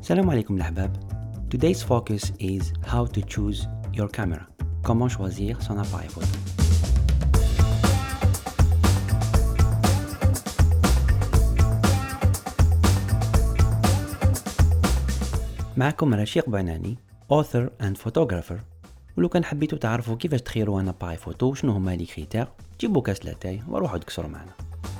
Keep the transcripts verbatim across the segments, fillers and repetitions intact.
Salam alaikum l'ahbab. Today's focus is how to choose your camera. Comment choisir son appareil photo. معكم رشيق بعناني author and photographer. ولو كان حبيتوا تعرفوا كيفاش تخيروا ان اباراي فوتو وشنو هما لي كريتير جيبوا كاس لاتاي وروحوا تكسروا معنا.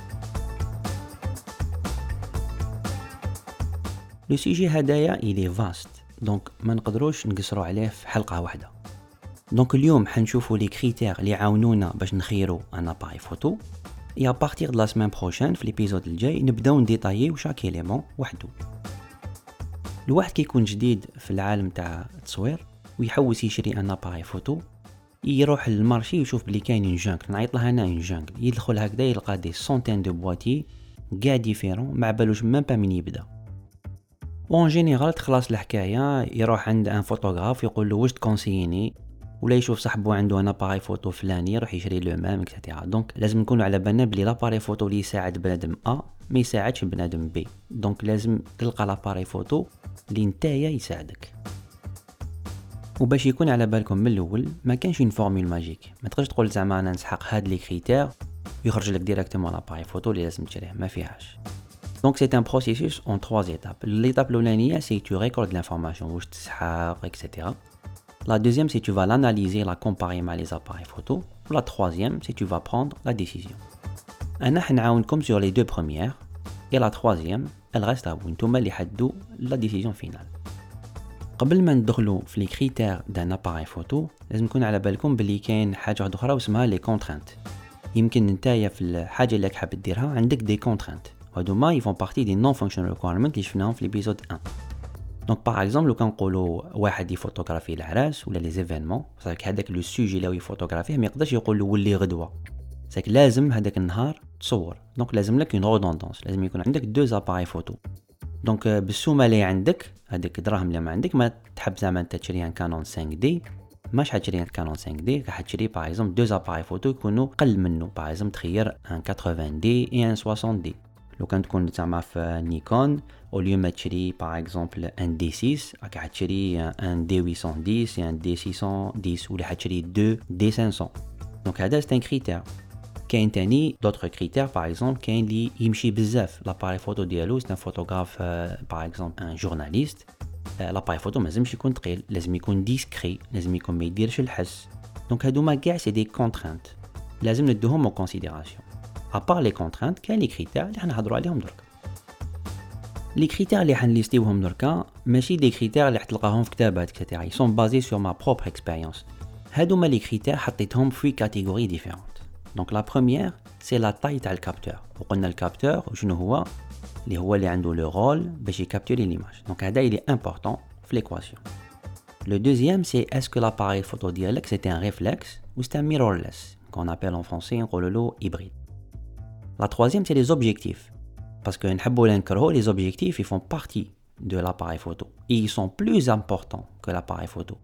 لو سوجي هدايا إلي فاست دونك ما نقدروش نقصروا عليه في حلقه واحده. دونك اليوم حنشوفوا لي كريتير اللي يعاونونا باش نخيروا ان اباراي فوتو. اي ا بارتير دو لا سيمين بروشين في ليبيزود الجاي نبداو نديطاييو شاك إيليمون وحده. الواحد كيكون جديد في العالم تاع التصوير ويحوس يشري ان اباراي فوتو، يروح للمارشي ويشوف بلي كاين اون جانك، نعيط لها انا اون جانك، يدخل هكذا يلقى دي سونتين دو بواتي كاع ديفيرون، ما بالوش ميم با من يبدا. وان جينيرال تخلص الحكايه يروح عند ان فوتوغراف يقول له واش تكونسييني، ولا يشوف صاحبه عنده ان اباراي فوتو فلاني يروح يشري لو ميم اكسيتيرا. دونك لازم نكونوا على بالنا بلي لاباراي فوتو اللي يساعد بنادم ا ما يساعدش بنادم بي. دونك لازم تلقى لاباراي فوتو اللي نتايا يساعدك. وباش يكون على بالكم من الاول ما كانش اون فورمول ماجيك، ما تقدرش تقول زعما انا نسحق هاد لي كريتير ويخرج لك ديريكتومون لاباراي فوتو اللي لازم تشريه، ما فيهاش. دونك سي ان بروسيسوس اون trois étapes. l'étape الاولانيه سي تو ريكورد لانفورماسيون واش تسحق اكسيتيرا. La deuxième, c'est tu vas l'analyser, la comparer avec les appareils photo. La troisième, c'est tu vas prendre la décision. أنا حنعاونكم sur les deux premières. Et la troisième, elle reste à vous. نتوما اللي حددوا la décision finale. قبل ما ندخلوا في لي كريتير دان اباراي فوتو لازم نكون على بالكم بلي كاين حاجه واحده اخرى اسمها لي كونترانت. يمكن نتايا في الحاجه اللي حاب ديرها عندك دي كونترانت، هادوما يفون بارتي دي نون فانكشنال ريكويرمنت اللي شفناهم في ليبيزود واحد. دونك باغ اكزومبل لو كنقولوا واحد يفوتوغرافي العراس ولا لي زيفينمون، صافي هذاك لو سوجي اللي يفوتوغرافيه ما يقدرش يقول له ولي غدوه، صافي لازم هذاك النهار تصور. دونك لازم لك اون رودوندونس، لازم يكون عندك دو اباراي فوتو. دونك بالسومه اللي عندك هذيك الدراهم اللي ما عندك ما تحب زعما انت تشري ان كانون خمسة دي، ماش حتشري ان كانون خمسة دي، راح تشري باغ اكزومبل دو اباراي فوتو يكونوا قل منه، باغ اكزومبل تخير ان ثمانين دي اي ان ستين دي. لو كان تكون زعما في نيكون او ليو ما تشري باغ اكزومبل ان دي ستة راك حتشري ان دي ثمانمية وعشرة ان دي ستمية وعشرة ولا حتشري دو دي خمسمية. دونك هذا سي ان كريتير. كاين تاني دوطخ كريتير باغ اكزومبل كاين اللي يمشي بزاف لاباراي فوتو ديالو، سي ان فوتوغراف باغ اكزومبل ان جورناليست، لاباراي فوتو ما لازمش يكون ثقيل، لازم يكون ديسكري، لازم يكون ما يديرش الحس. دونك هادوما كاع سي دي كونترانت لازم ندوهم اون كونسيديراسيون. ابار لي كونترانت كاين لي كريتير اللي حنهضروا عليهم درك. لي كريتير اللي حنليستيوهم دركا ماشي دي كريتير اللي حتلقاهم في كتابات اكسيتيرا، سون بازي سور ما بروبر اكسبيريونس. هادوما لي كريتير حطيتهم في كاتيجوري ديفيرونت. دونك لا بروميير سي لا تاي تاع الكابتور، وقلنا الكابتور وشنو هو اللي هو اللي عنده لو رول باش يكابتوري ليماج. دونك هذا اللي امبورطون في ليكواسيون. لو دوزيام سي اسكو لاباري فوتو ديالك سي ان ريفلكس ou c'est un mirrorless qu'on appelle en français نقولوا له hybride. La troisième c'est les objectifs, parce que نحبوا ولا نكرهوا les objectifs ils font partie de l'appareil photo et ils sont plus importants que l'appareil photo.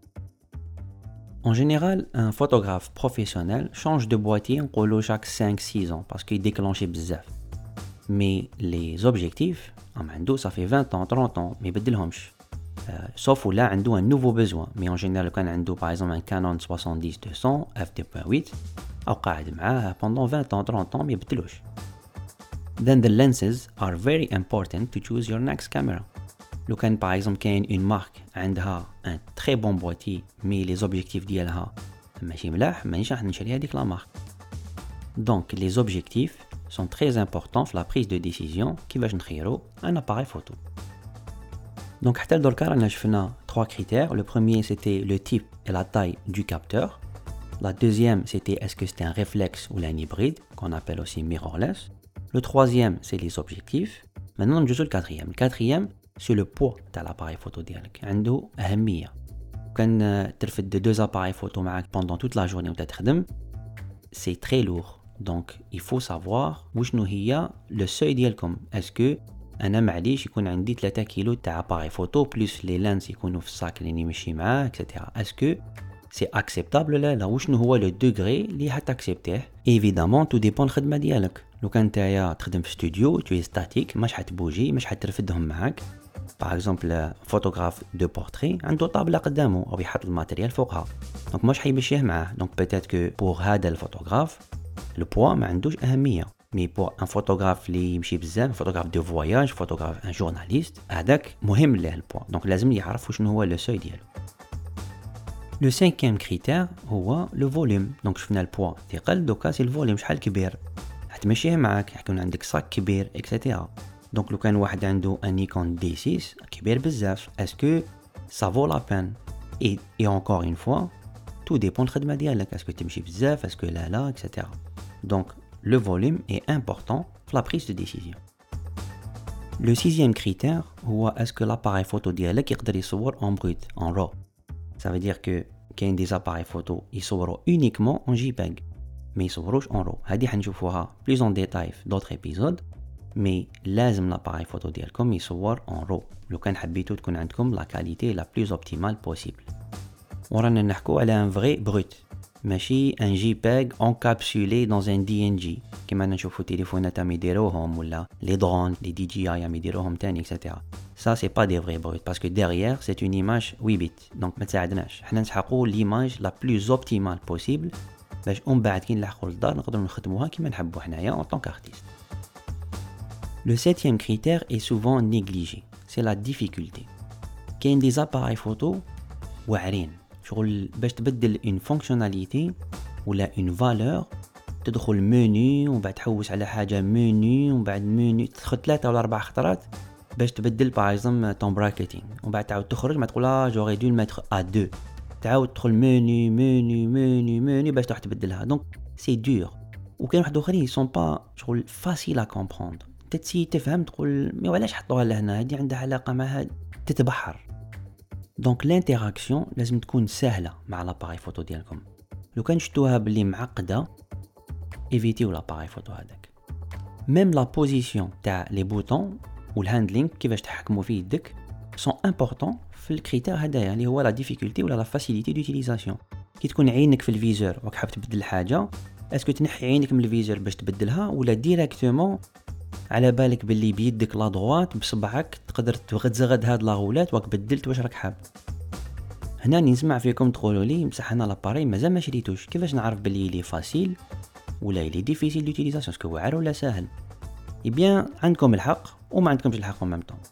En général, un photographe professionnel change de boîtier نقولوا chaque cinq six ans parce qu'il déclenche بزاف. Mais les objectifs am عنده ça fait vingt ans trente ans ما يبدلهمش. Euh, sauf là عنده un nouveau besoin. Mais en général كان عنده par exemple un Canon soixante-dix deux cents f deux point huit أو قاعد معاه pendant vingt ans trente ans ما يبدلوش. Then the lenses are very important to choose your next camera. لو كان par exemple كاين une marque عندها un très bon boîtier mais les objectifs ديالها ماشي ملاح مانيش راح نشري هذيك لا مارك. Donc les objectifs sont très importants في la prise de décision كيفاش نخيروا un appareil photo. Donc حتى لدركا رانا شفنا trois critères. Le premier c'était le type et la taille du capteur. La deuxième c'était est-ce que c'était un réflexe ou un hybride qu'on appelle aussi mirrorless. Le troisième c'est les objectifs. Maintenant نجوزو le quatrième. Le quatrième c'est le poids تاع l'appareil photo ديالك، عنده أهمية. كان ترفد deux appareils photo معاك pendant toute la journée وانت تخدم c'est très lourd. Donc il faut savoir وشنو هي le seuil ديالكم. est-ce que انا معليش يكون عندي ثلاثة كيلو تاع اباري فوتو بلس لي لانس يكونوا في الصاك اللي نمشي معاه اكسيتيرا. اسكو سي اكسبتابل لا لا وشنو هو لو دوغري اللي حتاكسبتيه. ايفيدامون تو ديبون الخدمه ديالك. لو كان نتايا تخدم في استوديو تو ستاتيك ماش حتبوجي ماش حترفدهم معاك باغ اكزومبل فوتوغراف دو بورتري عنده طابله قدامه او يحط الماتيريال فوقها، دونك مش حيمشيه معاه. دونك بيتيت كو بور هذا الفوتوغراف البوا ما عندوش اهميه، مي بور ان فوتوغراف اللي يمشي بزاف، فوتوغراف دو فواياج، فوتوغراف ان جورناليست، هذاك مهم له البوا، دونك لازم يعرف شنو هو لو سوي ديالو. لو سانكيام كريتير هو لو فوليوم. دونك شفنا البوا ثقل، دوكا سي الفوليوم شحال كبير حتمشيه معاك، يكون عندك صاك كبير اكسيتيرا. دونك لو كان واحد عنده ان نيكون دي ستة كبير بزاف، اسكو سا فو لا بين؟ اي اي انكور اون فوا تو ديبون الخدمه ديالك، اسكو تمشي بزاف، اسكو لا لا اكسيتيرا. دونك le volume est important pour la prise de décision. Le sixième critère هو est-ce que l'appareil photo ديالك يقدر يصور en brut, en raw. Ça veut dire que كاين des appareils photo يصوروا uniquement en JPEG ما يصوروش en raw. هذه حنشوفوها plus en détail في d'autres épisodes. mais لازم l'appareil photo ديالكم يصور en raw لو كان حبيتو تكون عندكم la qualité la plus optimale possible. ورانا نحكو على un vrai brut ماشي ان جي بيج انكابسولي دون ان دي ان جي كيما نشوفوا تليفونات عم يديروهم ولا لي درون لي دي جي اي عم يديروهم تاني اكسيتيرا. سا سي با دي فري بروت باسكو ديريير سي اون ايماج huit بت، دونك ما تساعدناش. حنا نسحقوا ليماج لا بلوز اوبتيمال بوسيبل باش اون بعد كي نلحقوا للدار نقدروا نخدموها كيما نحبوا حنايا اون طونك ارتيست. لو سيتيام كريتير اي سوفون نيغليجي سي لا ديفيكولتي. كاين دي زاباراي فوتو واعرين شغل باش تبدل اون فونكسيوناليتي ولا اون فالور، تدخل منيو ومن بعد تحوس على حاجه منيو ومن بعد منيو تدخل ثلاثه ولا اربع خطرات باش تبدل باغ اكزومبل طون براكيتينغ، ومن بعد تعاود تخرج ما تقول لا جوري دو ميتر ا دو، تعاود تدخل منيو منيو منيو منيو باش تروح تبدلها. دونك سي دور. وكاين واحد اخرين سون با شغل فاسيل ا كومبروندر، تتسي تفهم تقول مي علاش حطوها لهنا، هذه عندها علاقه مع هذا، تتبحر. دونك الانتراكسيون لازم تكون سهله مع لاباراي فوتو ديالكم. لو كان شفتوها باللي معقده ايفيتيو لاباراي فوتو هذاك. ميم لا بوزيسيون تاع لي بوطون والهاندلينغ كيفاش تحكموا فيه يدك سون امبورطون في الكريتير هذايا اللي هو لا ديفيكولتي ولا لا فاسيليتي دوتيليزاسيون. كي تكون عينك في الفيزور وراك حاب تبدل حاجه، اسكو تنحي عينك من الفيزور باش تبدلها ولا ديريكتومون على بالك باللي بيدك لا دروات بصبعك تقدر تغزغد هاد لا غولات وراك بدلت واش راك حاب. هنا نسمع فيكم تقولوا لي بصح انا لاباري مازال ما شريتوش، كيفاش نعرف باللي لي فاسيل ولا لي ديفيسيل دوتيليزاسيون، اسكو واعر ولا ساهل؟ اي بيان عندكم الحق وما عندكمش الحق en même temps.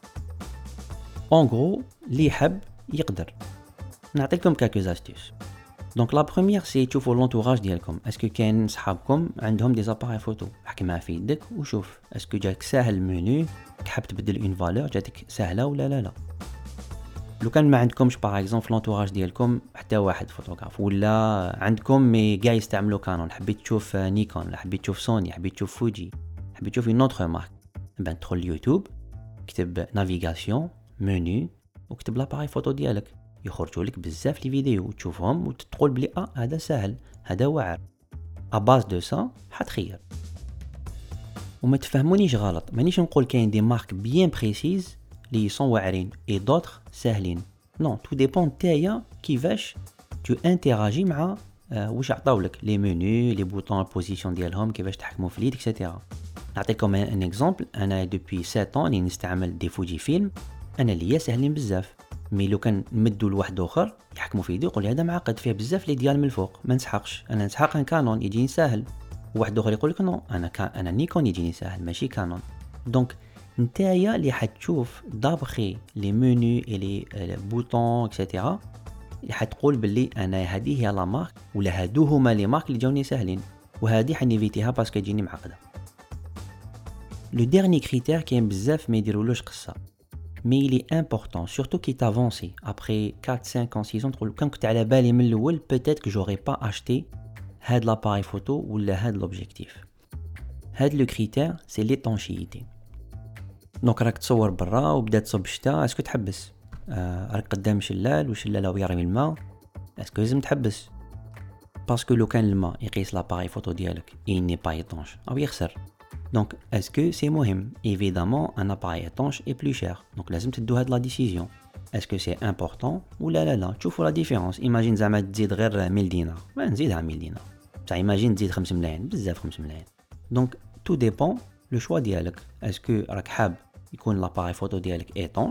en gros اللي يحب يقدر. نعطيكم كالكوز استيس. دونك لا بروميير سي تشوفوا لونتوراج ديالكم، اسكو كاين صحابكم عندهم دي زاباراي فوتو، حكي معاه في يدك وشوف اسكو جاك ساهل المنيو، حاب تبدل اون فالور جاتك سهله ولا لا لا. لو كان ما عندكمش باغ اكزومبل لونتوراج ديالكم حتى واحد فوتوغراف، ولا عندكم مي كاع يستعملوا كانون، حبيت تشوف نيكون، لا حبيت تشوف سوني، حبيت تشوف فوجي، حبيت تشوف اون اوتر مارك، بان تدخل اليوتيوب كتب نافيغاسيون منيو وكتب لاباراي فوتو ديالك، يخرجوا لك بزاف لي فيديو وتشوفهم وتقول بلي اه هذا سهل هذا واعر. اباز دو سا حتخير. وما تفهمونيش غلط، مانيش نقول كاين دي مارك بيان بريسيز لي سون واعرين اي دوطر ساهلين، نو تو ديبون نتايا كيفاش تو انتراجي مع آه واش عطاولك لي منيو لي بوطون البوزيسيون ديالهم كيفاش تحكموا في اليد اكسيتيرا. نعطيكم ان اكزامبل، انا دوبي سبعة ans اللي نستعمل دي فوجي فيلم، انا ليا ساهلين بزاف، مي لو كان نمدو لواحد اخر يحكموا في يدي يقول لي هذا معقد فيه بزاف لي ديال من الفوق ما نسحقش، انا نسحق ان كانون يجيني ساهل، وواحد اخر يقول لك نو انا كان انا نيكون يجيني ساهل ماشي كانون. دونك نتايا اللي حتشوف دابخي لي منيو اي لي بوطون اكسيتيرا اللي حتقول باللي انا هذه هي لا مارك ولا هادو هما لي مارك اللي جاوني ساهلين، وهذه حنيفيتيها باسكو تجيني معقده. لو ديرني كريتير كاين بزاف ما يديرولوش قصه، mais il est important surtout qui t'avance après quatre cinq ans six ans تقول كان كنت على بالي من الاول peut-être que j'aurais pas acheté هاد l'appareil photo ولا هاد l'objectif. هاد لو كريتير سي l'étanchéité. دونك راك تصور برا وبدا تصب الشتا، اسكو تحبس؟ آه راك قدام شلال وشلال هو يرمي الماء، اسكو لازم تحبس؟ باسكو لو كان الماء يقيس لاباراي فوتو ديالك il n'est pas étanche او يخسر. Donc, est-ce que c'est مهم؟ Évidemment, un appareil étanche est plus cher. Donc, لازم تدو هاد la décision. Est-ce que c'est important ou لا لا لا؟ تشوفوا la différence. Imagine زعما تزيد غير مية دينار، ما نزيدها مية دينار. بصح imagine تزيد خمس ملايين، بزاف خمس ملايين. Donc, tout dépend le choix ديالك. Est-ce que راك حاب يكون l'appareil photo ديالك étanche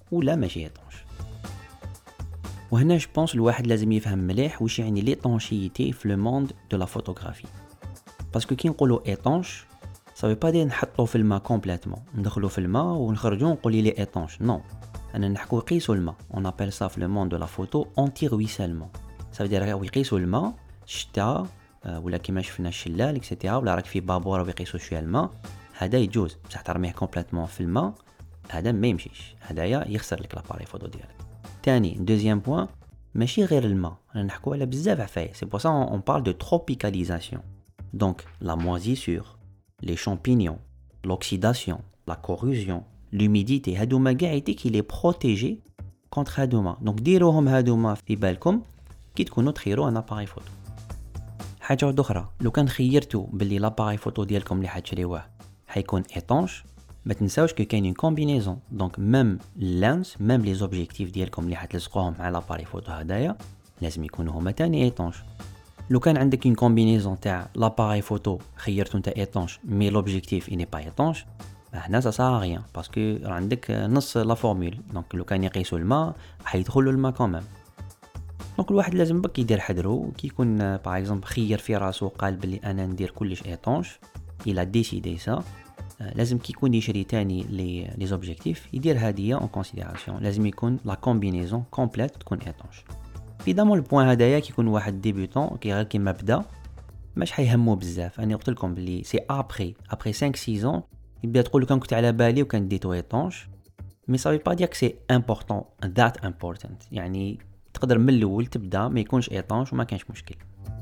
ولا ماشي ايطونش. وهنا جو بونس الواحد لازم يفهم مليح واش يعني ليطونشيتي في لو موند دو لا فوتوغرافي. باسكو كي نقولوا ايطونش صافي با دير نحطو في الماء كومبليتمون، ندخلو في الماء ونخرجو نقولي لي ايطونش، نو. انا نحكو يقيسوا الماء، اون ابل سا في لو موند دو لا فوتو اونتي رويسلمون. صافي دير يقيسوا الماء الشتاء ولا كيما شفنا الشلال اكسيتيرا، ولا راك في بابور ويقيسوا شويه الماء، هذا يجوز. بصح ترميه كومبليتمون في الماء هذا ما يمشيش، هذايا يخسر لك لاباري فوتو ديالك. ثاني دوزيام بوين، ماشي غير الماء، رانا نحكو على بزاف عفايس. سي بور سا اون بارل دو تروبيكاليزاسيون. دونك لا موازيسور، les champignons, l'oxydation, la corrosion, l'humidité, هادوما كاع يديك لي بروتيجي كونتر هادوما. دونك ديروهم هادوما في بالكم كي تكونوا تخيروا ان اباري فوتو. حاجه واحده اخرى، لو كان خيرتوا باللي لاباري فوتو ديالكم اللي حتشريوه حيكون ايطونش، ما تنساوش كو كاينين كومبينيزون. دونك ميم اللانس ميم لي زوبجيكتيف ديالكم اللي حتلصقوهم مع لاباري فوتو هدايا لازم يكونوا هما تاني ايطونش. لو كان عندك une combinaison تاع l'appareil photo خيرتو نتا ايطونش مي l'objectif il n'est pas étanche، هنا ça sert à rien باسكو عندك نص لا فورمول. دونك لو كان يقيسوا الماء حيدخلوا الماء كمان. دونك الواحد لازم بك يدير حذرو كي يكون باغ اكزومبل خير في راسو قال بلي انا ندير كلش ايطونش، الى ديسيدي سا، لازم كي يكون يشري تاني لي لي زوبجيكتيف يدير هاديه اون كونسيديراسيون، لازم يكون لا كومبينيزون كومبليت تكون ايطونش. ايدامون البوين هدايا كي يكون واحد ديبيوتون كي غير كيما بدا ماش حيهمو بزاف. انا قلت لكم بلي سي ابري ابري خمسة ستة ans يبدا تقول لك كنت على بالي وكان ديتو ايطونش، مي صافي با ديك سي امبورطون ذات امبورطنت، يعني تقدر من الاول تبدا ما يكونش ايطونش وما كانش مشكل.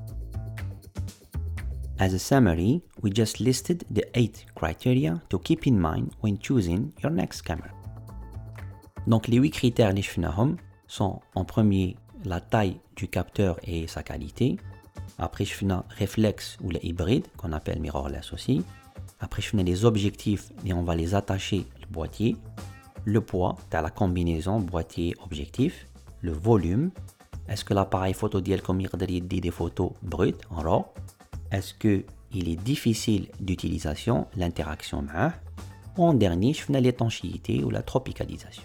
As a summary, we just listed the eight criteria to keep in mind when choosing your next camera. Donc les huit critères اللي شفناهم sont en premier la taille du capteur et sa qualité. Après, je fais un réflexe ou le hybride qu'on appelle mirrorless aussi. Après, je fais les objectifs et on va les attacher le boîtier. Le poids, tu as la combinaison boîtier-objectif. Le volume. Est-ce que l'appareil photo ديالكم يقدر يدي des photos brutes en raw? Est-ce que il est difficile d'utilisation, l'interaction معاه? En dernier, je fais l'étanchéité ou la tropicalisation.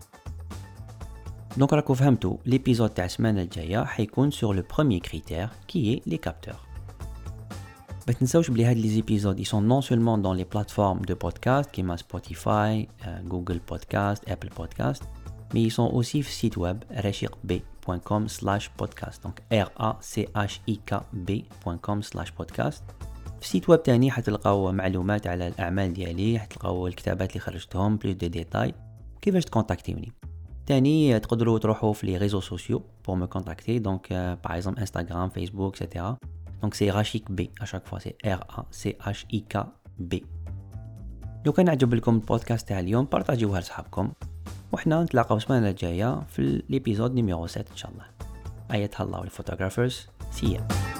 Donc راكو فهمتوا l'épisode تاع السمانه الجايه حيكون sur le premier critère qui est les capteurs. ما تنساوش بلي هاد لي زيبيزود ils sont non seulement dans les plateformes de podcast كيما Spotify, Google Podcast, Apple Podcast, mais ils sont aussi في السيت ويب rachikb point com slash podcast. donc r a c h i k b point com slash podcast. في السيت ويب تاني حتلقاو معلومات على الاعمال ديالي، حتلقاو الكتابات اللي خرجتهم بلوس دو ديتاي كيفاش تكونتاكتيوني. تاني تقدروا تروحوا في لي ريزو سوسيو pour me contacter, donc euh, par exemple Instagram, Facebook, et cetera. Donc c'est rachikb à chaque fois, c'est R A C H I K B. لو كان عجب لكم البودكاست تاع اليوم بارطاجيوها لصحابكم، وحنا نتلاقاو السمانه الجايه في الابيزود نيميرو سبعة ان شاء الله. ايتها الله الفوتوغرافرز، سي